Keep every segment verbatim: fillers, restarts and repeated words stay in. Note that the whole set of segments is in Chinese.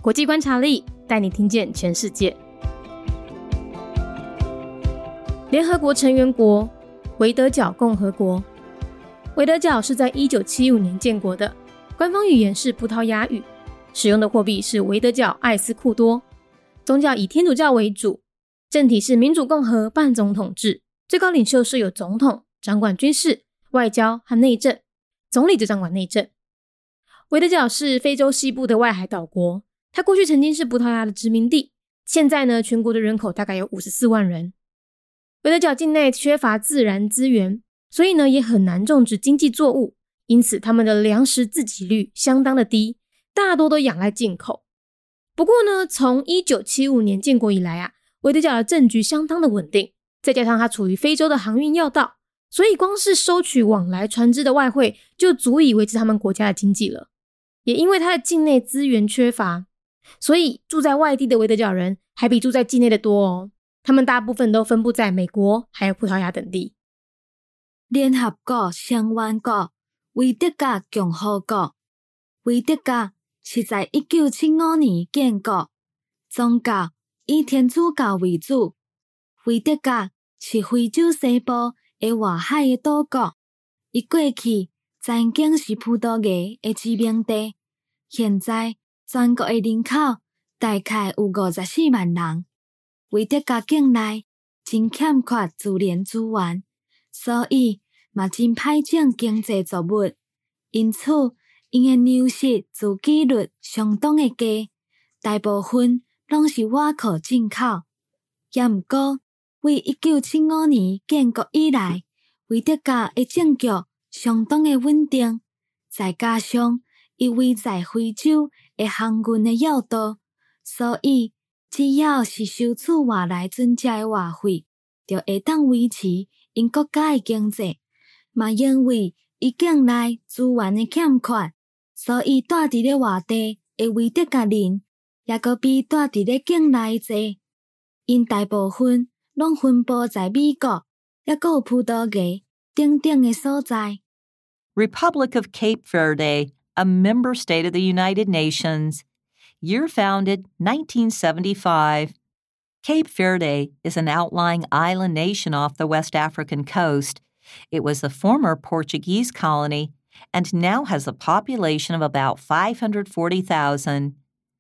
国际观察力带你听见全世界。联合国成员国维德角共和国。维德角是在一九七五年建国的，官方语言是葡萄牙语，使用的货币是维德角艾斯库多，宗教以天主教为主，政体是民主共和半总统制，最高领袖是有总统，掌管军事、外交和内政，总理就掌管内政。维德角是非洲西部的外海岛国，它过去曾经是葡萄牙的殖民地，现在呢，全国的人口大概有五十四万人。维德角境内缺乏自然资源，所以呢也很难种植经济作物，因此他们的粮食自给率相当的低，大多都仰赖进口。不过呢，从一九七五年建国以来啊，维德角的政局相当的稳定，再加上它处于非洲的航运要道，所以光是收取往来船只的外汇就足以维持他们国家的经济了。也因为它的境内资源缺乏，所以住在外地的维德角人还比住在境内的多哦。他们大部分都分布在美国还有葡萄牙等地。 联合国成员国维德角共和国。维德角是在一九七五年建国，宗教以天主教为主。维德角是非洲西部的外海的岛国，伊过去曾经是葡萄牙的殖民地，现在全国的人口大概有五十四万人。维德角境内真欠缺自然资源，所以嘛真歹种经济作物，因此因的粮食自给率相当的低，大部分拢是外靠进口。也毋过，为一九七五年建国以来，维德角的政局相当的稳定，再加上伊位在非洲的航运的要道，所以只要是收取外来船只的外汇，就会当维持因国家的经济。嘛因为伊境内资源的欠缺，所以住伫咧外地的维德角人也阁比住伫咧境内济。因大部分拢分布在美国，也阁有葡萄牙等等的所在。 Republic of Cape Verde, a member state of the United Nations. Year founded nineteen seventy-five. Cape Verde is an outlying island nation off the West African coast. It was the former Portuguese colony and now has a population of about five hundred forty thousand.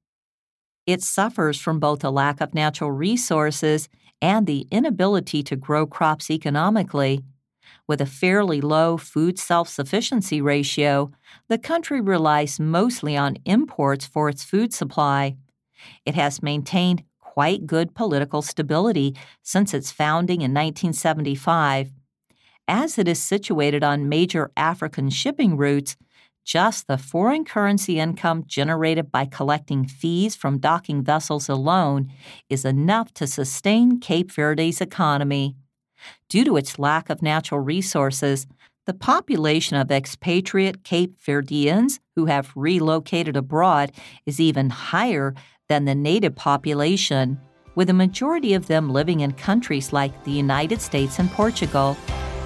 It suffers from both a lack of natural resources and the inability to grow crops economically. With a fairly low food self-sufficiency ratio, the country relies mostly on imports for its food supply. It has maintained quite good political stability since its founding in nineteen seventy-five. As it is situated on major African shipping routes, just the foreign currency income generated by collecting fees from docking vessels alone is enough to sustain Cape Verde's economy. Due to its lack of natural resources, the population of expatriate Cape Verdeans who have relocated abroad is even higher than the native population, with a majority of them living in countries like the United States and Portugal.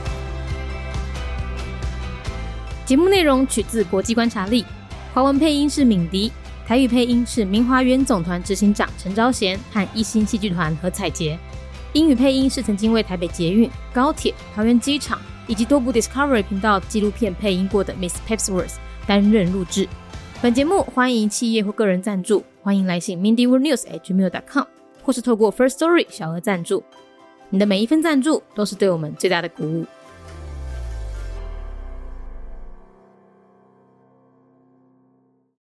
节目内容取自国际观察力，华文配音是敏迪，台语配音是明华园总团执行长陈昭贤和一星戏剧团何彩杰，英语配音是曾经为台北捷运、高铁、桃园机场以及多部 Discovery 频道纪录片配音过的 Miss Pepsworth 担任录制。本节目欢迎企业或个人赞助，欢迎来信 mindy world news at gmail dot com 或是透过 First Story 小额赞助。你的每一份赞助都是对我们最大的鼓舞。